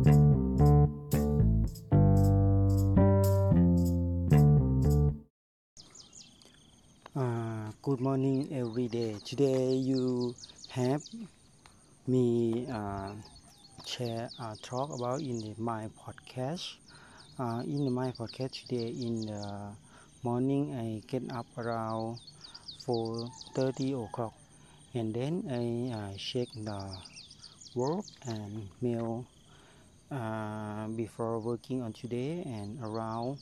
Good morning every day. Today you have me share talk about my podcast. In my podcast today in the morning I get up around 4:30 o'clock and then I check the work and mail before working on today and around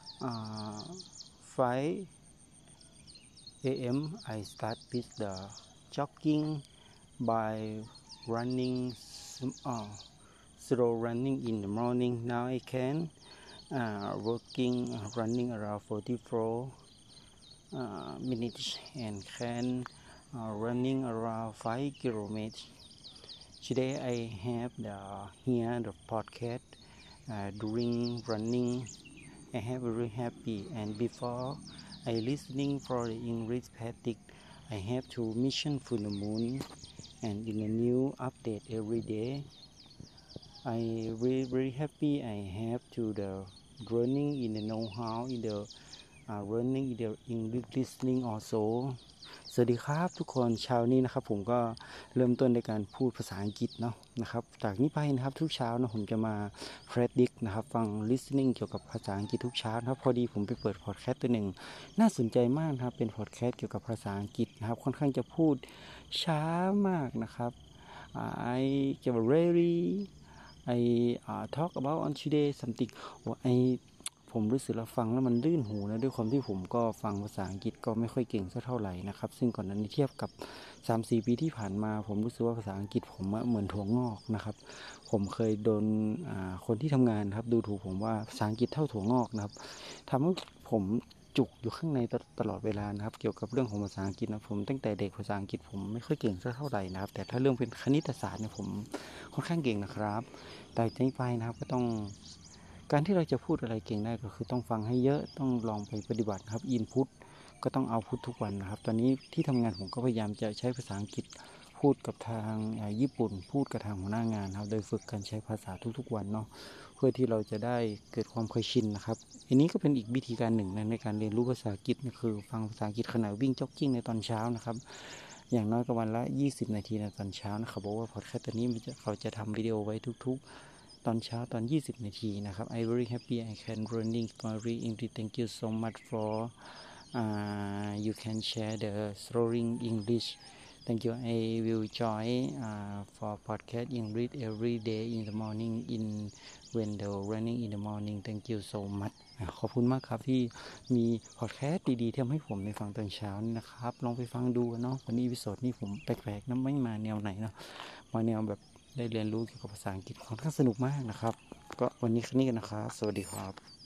5 a.m. I start with the jogging by running slow running in the morning. Now I can running around 44 minutes and can running around 5 kilometers. Today I have the podcast during running. I have very happy and before I listening for the English practice. I have to mission for the moon and in a new update every day. I very happy. I have to the running in the know-how in the running in the English listening also สวัสดีครับทุกคนเช้านี้นะครับผมก็เริ่มต้นในการพูดภาษาอังกฤษเนาะนะครับจากนี้ไปนะครับทุกเช้านะผมจะมา practice นะครับฟัง listening เกี่ยวกับภาษาอังกฤษทุกเช้านะครับพอดีผมไปเปิดพอดแคสต์ตัวหนึ่งน่าสนใจมากครับเป็นพอดแคสต์เกี่ยวกับภาษาอังกฤษนะครับค่อนข้างจะพูดช้ามากนะครับ I get very I talk about on today something ผมรู้สึกแล้วฟังแล้วมันลื่นหูนะด้วยความที่ผมก็ฟังภาษาอังกฤษก็ไม่ค่อยเก่งสักเท่าไหร่นะครับซึ่งก่อนหน้านี้เทียบกับ 3-4 ปีที่ผ่านมาผมรู้สึกว่าภาษาอังกฤษผมเหมือนถั่วงอกนะครับผมเคยโดนคนที่ทำงานครับดูถูกผมว่าภาษาอังกฤษเท่าถั่วงอกนะครับทำให้ผมจุกอยู่ข้างในตลอดเวลานะครับเกี่ยวกับเรื่องของภาษาอังกฤษนะผมตั้งแต่เด็กภาษาอังกฤษผมไม่ค่อยเก่งสักเท่าไหร่นะครับแต่ถ้าเรื่องเป็นคณิตศาสตร์เนี่ยผมค่อนข้างเก่งนะครับแต่จากนี้ไปนะครับก็ต้องการที่เราจะพูดอะไรเก่งได้ก็คือต้องฟังให้เยอะต้องลองไปปฏิบัติครับอินพุตก็ต้องเอาพุตทุกวันนะครับตอนนี้ที่ทำงานผมก็พยายามจะใช้ภาษาอังกฤษพูดกับทางญี่ปุ่นพูดกับทางหัวหน้างานครับโดยฝึกการใช้ภาษาทุกๆวันเนาะเพื่อที่เราจะได้เกิดความเคยชินนะครับอันนี้ก็เป็นอีกวิธีการหนึ่งในการเรียนรู้ภาษาอังกฤษนี่คือฟังภาษาอังกฤษขณะวิ่งจ็อกกิ้งในตอนเช้านะครับอย่างน้อยก็วันละ20 นาทีในตอนเช้านะครับบอกว่าพอดแคสต์ตัวนี้เขาจะทำวิดีโอไว้ทุกๆตอนเช้าตอน20 นาทีนะครับ I very happy I can learning very English thank you so much for you can share the slowing English thank you I will join for podcast English every day in the morning in when the running in the morning thank you so much ขอบคุณมากครับที่มีพอดแคสต์ดีๆที่ทำให้ผมในฟังตอนเช้านี่นะครับลองไปฟังดูเนาะวันนี้อีพิโซดนี้ผมแปลกๆนะไม่มาแนวไหนเนาะมาแนวแบบได้เรียนรู้เกี่ยวกับภาษาอังกฤษค่อนข้างสนุกมากนะครับก็วันนี้แค่นี้กันนะครับสวัสดีครับ